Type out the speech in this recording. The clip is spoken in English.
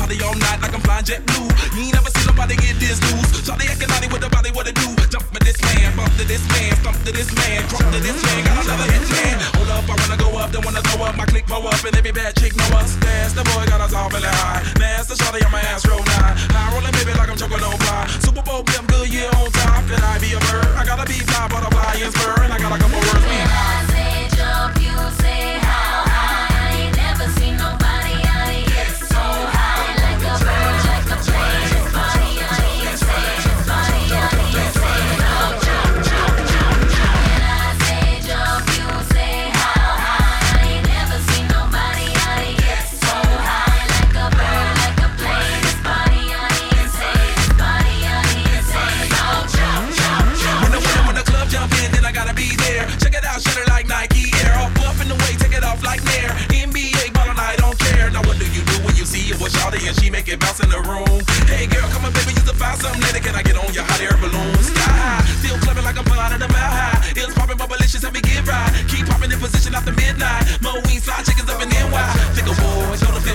shawty all night like I'm flying jet blue. You ain't never seen nobody get this loose. Shawty acting naughty with the body, what it do? Jump for this man, bump to this man, stump to this man, crump to this man, got another hit man. Hold up, I wanna go up, don't wanna throw up. My click blow up and every bad chick know us. Dance, the boy got us all feeling high. Master shawty on my ass roll 9. High rolling baby like I'm choking on fly. Super Bowl, I'm good, yeah, on top. Can I be a bird? I gotta be fly, butterfly and spur. And I got a couple words. When I say jump, you say how high. I ain't never seen nobody out here so high. Like a bird, like a plane. This body on the insane. This body on the insane. Oh, jump, jump, jump, jump. When I say jump, you say how high. I ain't never seen nobody out here so high. Like a bird, like a plane. This body on the insane. This body on the insane. Oh, jump, jump, jump. When the club jump in, then I gotta be there. Check it out, shut it like Nike Air. Off up in the way, take it off like Nair. NBA ball and I don't care. Now what do you do when you see it with shawty and she make it bounce in the room? Hey girl, come on baby, you can find something later. Can I get on your hot air balloon? Sky high, still clubbing like I'm flying at a mile high. It's popping, bubblicious, let me get right. Keep popping in position after midnight. Mo wings, fly chickens up in NY. Think a boy, go to